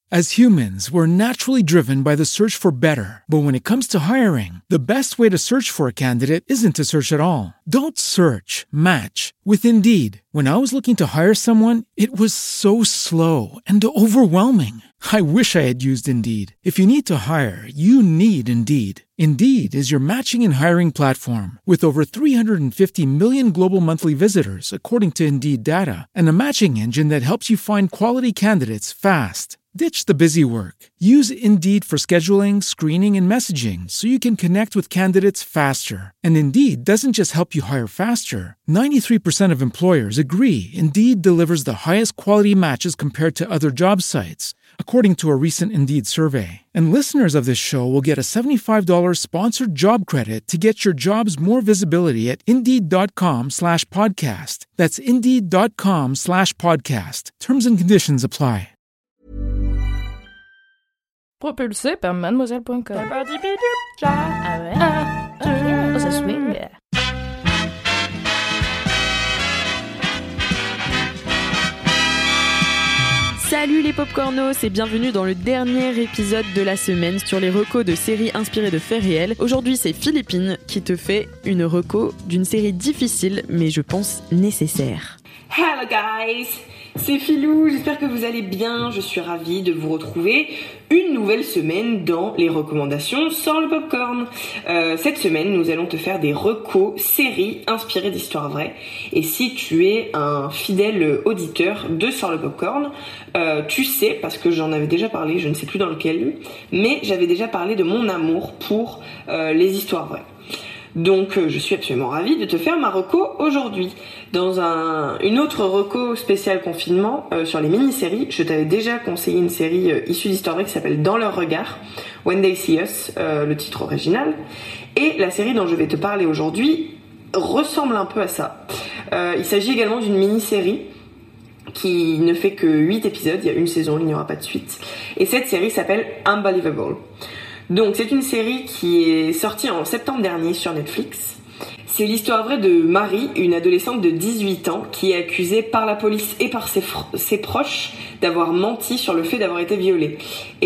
As humans, we're naturally driven by the search for better. But when it comes to hiring, the best way to search for a candidate isn't to search at all. Don't search, match with Indeed. When I was looking to hire someone, it was so slow and overwhelming. I wish I had used Indeed. If you need to hire, you need Indeed. Indeed is your matching and hiring platform with over 350 million global monthly visitors, according to Indeed data, and a matching engine that helps you find quality candidates fast. Ditch the busy work. Use Indeed for scheduling, screening, and messaging so you can connect with candidates faster. And Indeed doesn't just help you hire faster. 93% of employers agree Indeed delivers the highest quality matches compared to other job sites, according to a recent Indeed survey. And listeners of this show will get a $75 sponsored job credit to get your jobs more visibility at Indeed.com/podcast. That's Indeed.com/podcast. Terms and conditions apply. Propulsé par mademoiselle.com. Ah ouais. Oh, ça swing. Salut les popcornos et bienvenue dans le dernier épisode de la semaine sur les recos de séries inspirées de faits réels. Aujourd'hui c'est Philippine qui te fait une reco d'une série difficile mais je pense nécessaire. Hello guys, c'est Philou, j'espère que vous allez bien, je suis ravie de vous retrouver une nouvelle semaine dans les recommandations sans le popcorn. Cette semaine nous allons te faire des recos séries inspirées d'histoires vraies et si tu es un fidèle auditeur de Sans le popcorn, tu sais, parce que j'en avais déjà parlé, je ne sais plus dans lequel, mais j'avais déjà parlé de mon amour pour les histoires vraies. Donc je suis absolument ravie de te faire ma reco aujourd'hui. Dans une autre reco spéciale confinement sur les mini-séries, je t'avais déjà conseillé une série issue d'histoire vraie qui s'appelle Dans leur regard, When They See Us, le titre original. Et la série dont je vais te parler aujourd'hui ressemble un peu à ça. Il s'agit également d'une mini-série qui ne fait que 8 épisodes, il y a une saison, il n'y aura pas de suite. Et cette série s'appelle Unbelievable. Donc c'est une série qui est sortie en septembre dernier sur Netflix. C'est l'histoire vraie de Marie, une adolescente de 18 ans qui est accusée par la police et par ses proches d'avoir menti sur le fait d'avoir été violée.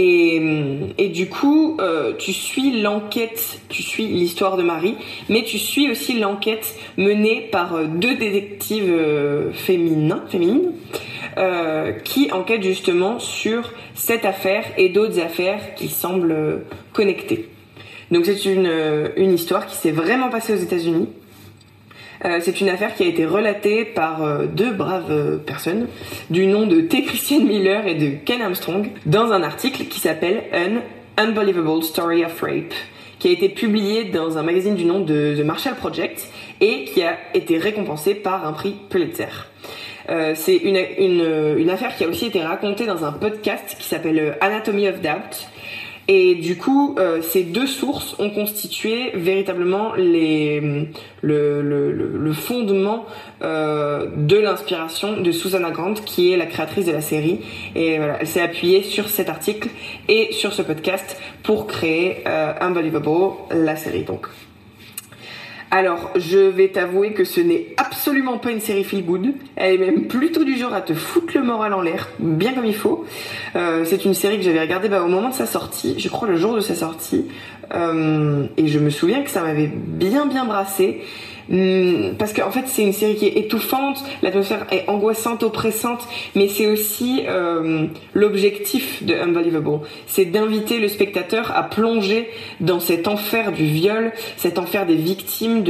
Et du coup, tu suis l'enquête, tu suis l'histoire de Marie, mais tu suis aussi l'enquête menée par deux détectives féminines qui enquêtent justement sur cette affaire et d'autres affaires qui semblent connectées. Donc c'est une histoire qui s'est vraiment passée aux États-Unis. C'est une affaire qui a été relatée par deux braves personnes du nom de T. Christian Miller et de Ken Armstrong dans un article qui s'appelle An Unbelievable Story of Rape, qui a été publié dans un magazine du nom de The Marshall Project et qui a été récompensé par un prix Pulitzer. C'est une affaire qui a aussi été racontée dans un podcast qui s'appelle Anatomy of Doubt. Et du coup, ces deux sources ont constitué véritablement le fondement de l'inspiration de Susanna Grant, qui est la créatrice de la série. Et voilà, elle s'est appuyée sur cet article et sur ce podcast pour créer Unbelievable, la série donc. Alors, je vais t'avouer que ce n'est absolument pas une série feel good. Elle est même plutôt du genre à te foutre le moral en l'air, bien comme il faut. C'est une série que j'avais regardée au moment de sa sortie, je crois le jour de sa sortie. Et je me souviens que ça m'avait bien brassé. Parce qu'en fait c'est une série qui est étouffante, l'atmosphère est angoissante, oppressante, mais c'est aussi l'objectif de Unbelievable, c'est d'inviter le spectateur à plonger dans cet enfer du viol, cet enfer des victimes,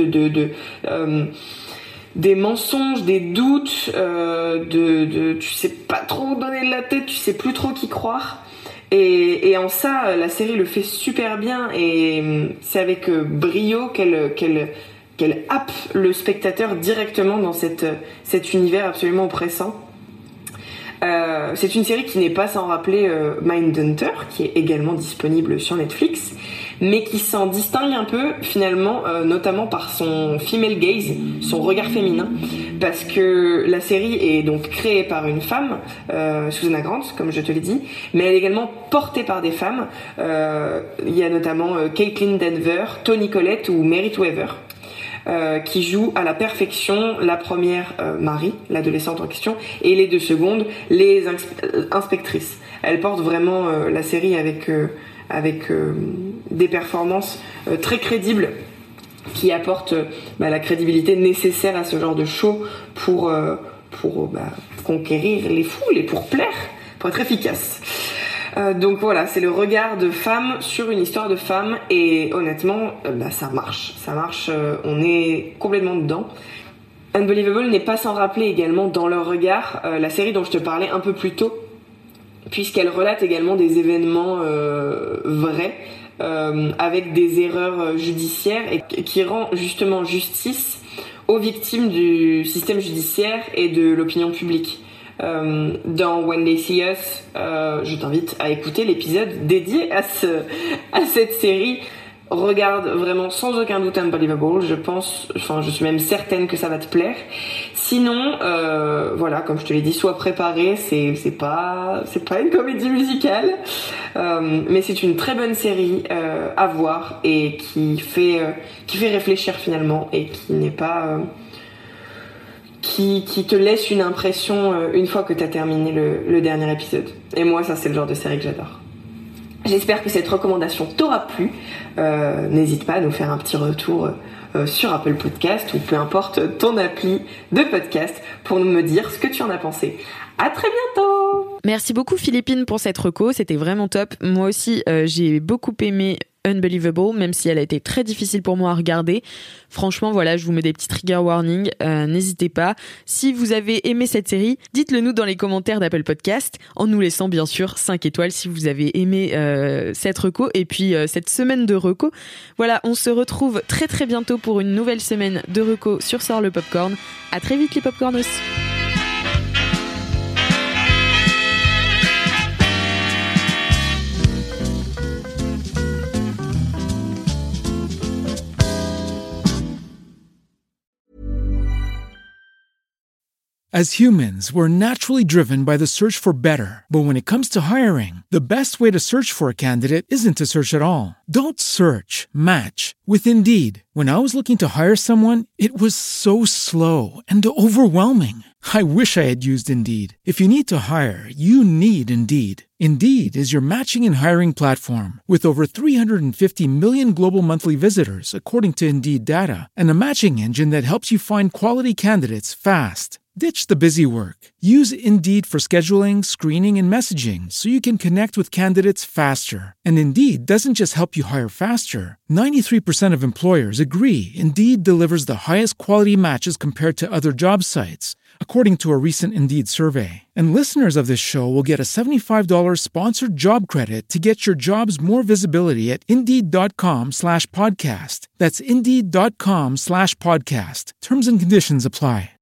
des mensonges, des doutes, tu sais pas trop où donner de la tête, tu sais plus trop qui croire. Et en ça, la série le fait super bien et c'est avec brio qu'elle happe le spectateur directement dans cet univers absolument oppressant. C'est une série qui n'est pas sans rappeler Mindhunter, qui est également disponible sur Netflix, mais qui s'en distingue un peu finalement, notamment par son female gaze, son regard féminin, parce que la série est donc créée par une femme, Susanna Grant, comme je te l'ai dit, mais elle est également portée par des femmes. Il y a notamment Caitlin Denver, Toni Collette ou Merit Weaver. Qui joue à la perfection la première Marie, l'adolescente en question, et les deux secondes, les inspectrices. Elle porte vraiment la série avec des performances très crédibles qui apportent la crédibilité nécessaire à ce genre de show pour conquérir les foules et pour plaire, pour être efficace. Donc voilà, c'est le regard de femme sur une histoire de femme et honnêtement, ça marche, on est complètement dedans. Unbelievable n'est pas sans rappeler également dans leur regard la série dont je te parlais un peu plus tôt, puisqu'elle relate également des événements vrais avec des erreurs judiciaires et qui rend justement justice aux victimes du système judiciaire et de l'opinion publique. Dans When They See Us, je t'invite à écouter l'épisode dédié à cette série. Regarde vraiment sans aucun doute Unbelievable, je suis même certaine que ça va te plaire. Sinon, comme je te l'ai dit, sois préparé, c'est pas une comédie musicale, mais c'est une très bonne série à voir et qui fait réfléchir finalement et qui n'est pas qui te laisse une impression une fois que t'as terminé le dernier épisode. Et moi, ça c'est le genre de série que j'adore. J'espère que cette recommandation t'aura plu. N'hésite pas à nous faire un petit retour sur Apple Podcast ou peu importe ton appli de podcast pour me dire ce que tu en as pensé. À très bientôt. Merci beaucoup Philippine pour cette reco, c'était vraiment top. Moi aussi, j'ai beaucoup aimé Unbelievable, même si elle a été très difficile pour moi à regarder. Franchement, voilà, je vous mets des petits trigger warnings. N'hésitez pas. Si vous avez aimé cette série, dites-le nous dans les commentaires d'Apple Podcast, en nous laissant bien sûr 5 étoiles si vous avez aimé cette reco et puis cette semaine de reco. Voilà, on se retrouve très très bientôt pour une nouvelle semaine de reco sur Sort le Popcorn. À très vite les Popcornos. As humans, we're naturally driven by the search for better. But when it comes to hiring, the best way to search for a candidate isn't to search at all. Don't search, match with Indeed. When I was looking to hire someone, it was so slow and overwhelming. I wish I had used Indeed. If you need to hire, you need Indeed. Indeed is your matching and hiring platform with over 350 million global monthly visitors, according to Indeed data, and a matching engine that helps you find quality candidates fast. Ditch the busy work. Use Indeed for scheduling, screening, and messaging so you can connect with candidates faster. And Indeed doesn't just help you hire faster. 93% of employers agree Indeed delivers the highest quality matches compared to other job sites, according to a recent Indeed survey. And listeners of this show will get a $75 sponsored job credit to get your jobs more visibility at Indeed.com/podcast. That's Indeed.com/podcast. Terms and conditions apply.